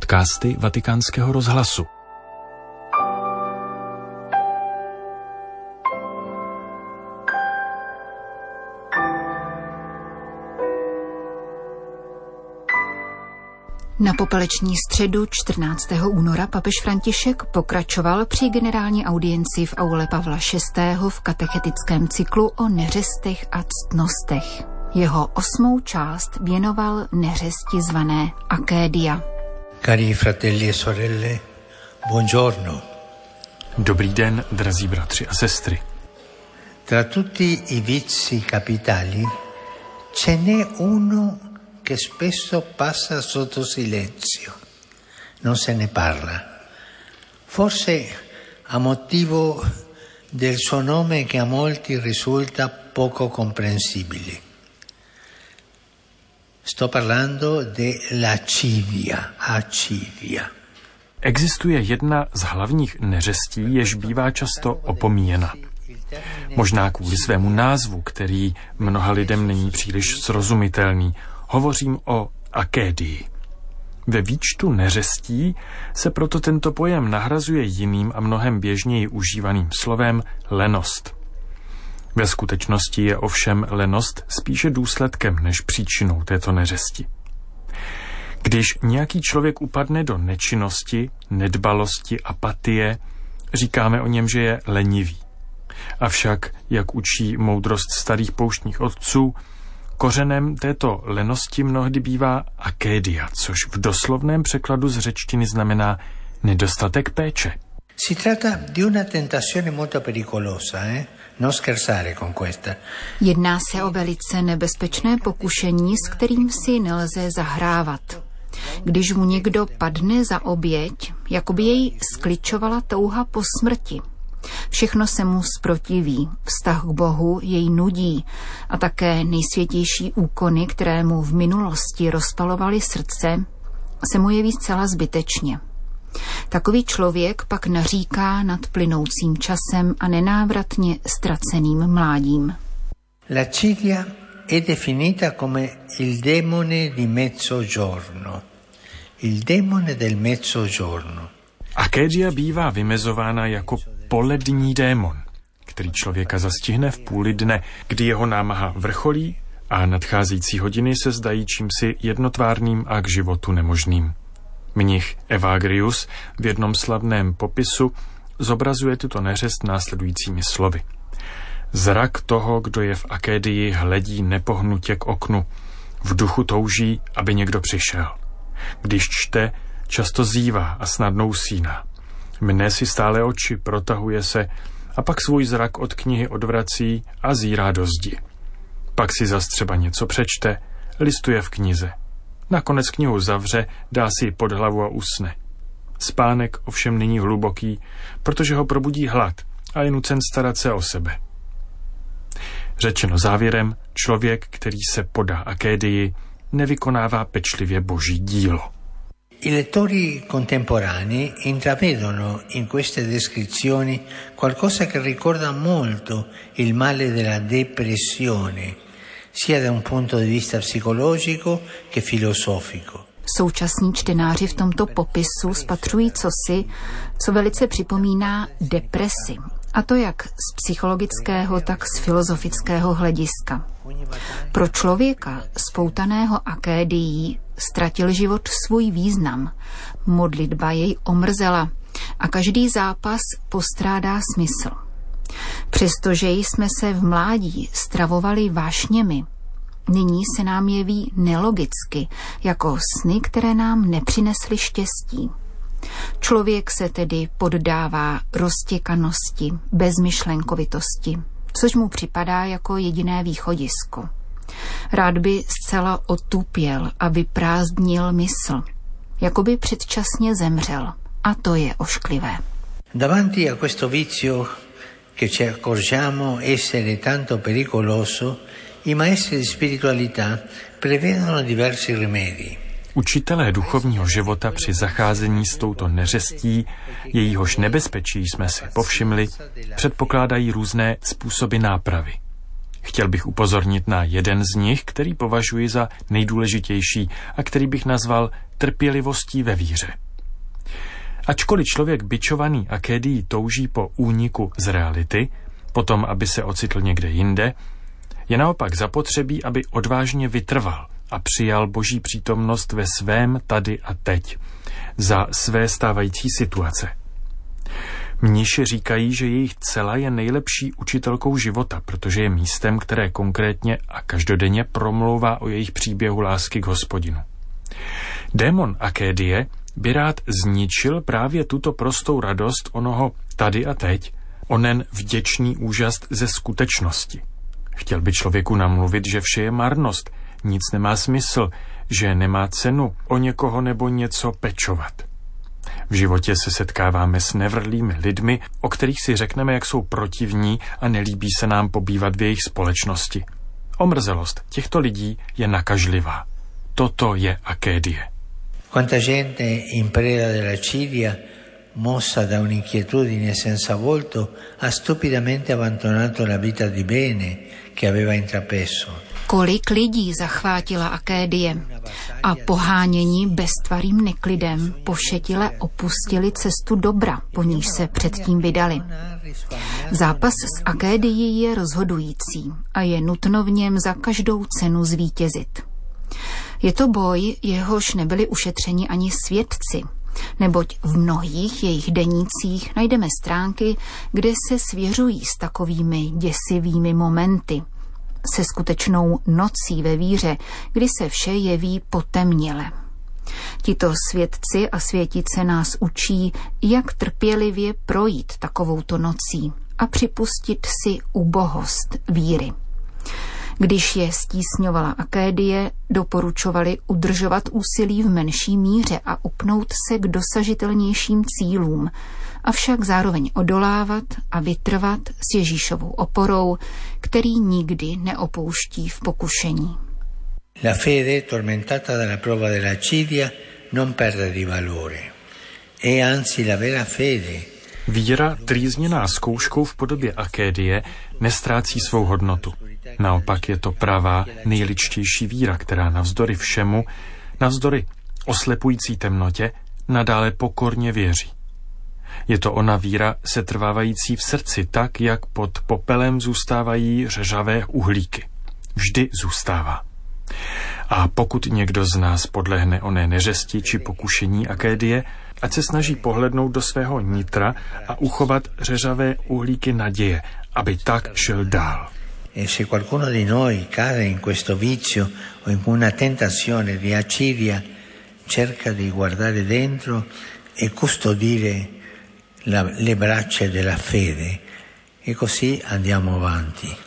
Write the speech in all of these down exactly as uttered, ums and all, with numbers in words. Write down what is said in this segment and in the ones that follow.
Podcasty Vatikánského rozhlasu. Na popeleční středu čtrnáctého února papež František pokračoval při generální audienci v aule Pavla šestého. v katechetickém cyklu o neřestech a ctnostech. Jeho osmou část věnoval neřesti zvané Akédia. Cari fratelli e sorelle, buongiorno. Dobrý den, drazí bratři a sestry. Tra tutti i vizi capitali ce n'è uno che spesso passa sotto silenzio. Non se ne parla. Forse a motivo del suo nome che a molti risulta poco comprensibile. Sto parlando de lascivia, acidia. Existuje jedna z hlavních neřestí, jež bývá často opomíjena. Možná kvůli svému názvu, který mnoha lidem není příliš srozumitelný. Hovořím o akédii. Ve výčtu neřestí se proto tento pojem nahrazuje jiným a mnohem běžněji užívaným slovem lenost. Ve skutečnosti je ovšem lenost spíše důsledkem než příčinou této neřesti. Když nějaký člověk upadne do nečinnosti, nedbalosti, apatie, říkáme o něm, že je lenivý. Avšak, jak učí moudrost starých pouštních otců, kořenem této lenosti mnohdy bývá akédia, což v doslovném překladu z řečtiny znamená nedostatek péče. Si tratta di una tentazione molto pericolosa, eh? Non scherzare con questa. Jedná se o velice nebezpečné pokušení, s kterým si nelze zahrávat. Když mu někdo padne za oběť, jako by jej skličovala touha po smrti. Všechno se mu zprotiví, vztah k Bohu jej nudí a také nejsvětější úkony, které mu v minulosti rozpalovaly srdce, se mu jeví zcela zbytečně. Takový člověk pak naříká nad plynoucím časem a nenávratně ztraceným mládím. L'acidia è definita come il demone di mezzogiorno. Il demone del mezzogiorno. Akédia bývá vymezována jako polední démon, který člověka zastihne v půli dne, kdy jeho námaha vrcholí a nadcházející hodiny se zdají čímsi jednotvárným a k životu nemožným. Mnich Evagrius v jednom slavném popisu zobrazuje tuto neřest následujícími slovy. Zrak toho, kdo je v akédii, hledí nepohnutě k oknu. V duchu touží, aby někdo přišel. Když čte, často zívá a snadno usíná. Mne si stále oči, protahuje se a pak svůj zrak od knihy odvrací a zírá do zdi. Pak si zas třeba něco přečte, listuje v knize. Nakonec knihu zavře, dá si ji pod hlavu a usne. Spánek ovšem není hluboký, protože ho probudí hlad a je nucen starat se o sebe. Řečeno závěrem, člověk, který se podá akédii, nevykonává pečlivě boží dílo. I lettori contemporanei intravedono in queste descrizioni qualcosa che ricorda molto il male della depressione, sia da un punto di vista psicologico che filosofico. Současní čtenáři v tomto popisu spatřují cosi, co velice připomíná depresi, a to jak z psychologického, tak z filozofického hlediska. Pro člověka spoutaného akédií ztratil život svůj význam, modlitba jej omrzela a každý zápas postrádá smysl. Přestože jsme se v mládí stravovali vášněmi, nyní se nám jeví nelogicky, jako sny, které nám nepřinesly štěstí. Člověk se tedy poddává roztěkanosti, bezmyšlenkovitosti, což mu připadá jako jediné východisko. Rád by zcela otupěl a vyprázdnil mysl, jako by předčasně zemřel, a to je ošklivé. Davanti a questo vizio che ci accorgiamo essere tanto pericoloso, i maestri di spiritualità prevedono diversi rimedi. Učitelé duchovního života při zacházení s touto neřestí, jejíhož nebezpečí jsme si povšimli, předpokládají různé způsoby nápravy. Chtěl bych upozornit na jeden z nich, který považuji za nejdůležitější a který bych nazval trpělivostí ve víře. Ačkoliv člověk bičovaný Akédií touží po úniku z reality, potom, aby se ocitl někde jinde, je naopak zapotřebí, aby odvážně vytrval a přijal Boží přítomnost ve svém tady a teď, za své stávající situace. Mniši říkají, že jejich cela je nejlepší učitelkou života, protože je místem, které konkrétně a každodenně promlouvá o jejich příběhu lásky k Hospodinu. Démon Akédie by rád zničil právě tuto prostou radost onoho tady a teď, onen vděčný úžas ze skutečnosti. Chtěl by člověku namluvit, že vše je marnost, nic nemá smysl, že nemá cenu o někoho nebo něco pečovat. V životě se setkáváme s nevrlými lidmi, o kterých si řekneme, jak jsou protivní a nelíbí se nám pobývat v jejich společnosti. Omrzelost těchto lidí je nakažlivá. Toto je Akédie. Quanta gente in preda della cidia, mossa da un'inquietudine senza volto, ha stupidamente abbandonato la vita di bene che aveva intrapreso. Kolik lidí zachvátila Akédie a pohánění beztvarým neklidem pošetile opustili cestu dobra, po níž se předtím vydali. Zápas s Akédií je rozhodující a je nutno v něm za každou cenu zvítězit. Je to boj, jehož nebyli ušetřeni ani svědci, neboť v mnohých jejich denících najdeme stránky, kde se svěřují s takovými děsivými momenty, se skutečnou nocí ve víře, kdy se vše jeví potemněle. Tito svědci a světice nás učí, jak trpělivě projít takovouto nocí a připustit si ubohost víry. Když je stísňovala Akédie, doporučovali udržovat úsilí v menší míře a upnout se k dosažitelnějším cílům, avšak zároveň odolávat a vytrvat s Ježíšovou oporou, který nikdy neopouští v pokušení. La fede, tormentata dalla prova della accidia, non perde di valore. E anzi la vera fede. Víra, trýzněná zkouškou v podobě Akédie, nestrácí svou hodnotu. Naopak je to pravá, nejličtější víra, která navzdory všemu, navzdory oslepující temnotě, nadále pokorně věří. Je to ona víra setrvávající v srdci tak, jak pod popelem zůstávají řeřavé uhlíky. Vždy zůstává. A pokud někdo z nás podlehne oné neřesti či pokušení Akédie, ať se snaží pohlednout do svého nitra a uchovat řeřavé uhlíky naděje, aby tak šel dál. E se qualcuno di noi cade in questo vizio o in una tentazione di accidia, cerca di guardare dentro e custodire la, le braccia della fede e così andiamo avanti.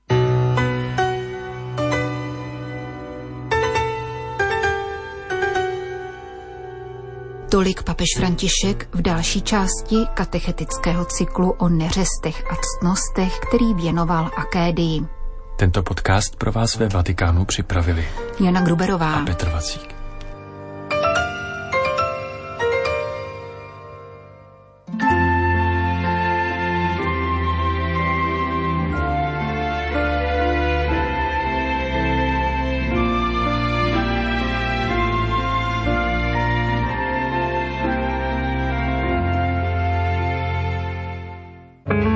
Tolik papež František v další části katechetického cyklu o neřestech a ctnostech, který věnoval Akédii. Tento podcast pro vás ve Vatikánu připravili Jana Gruberová a Petr Vacík.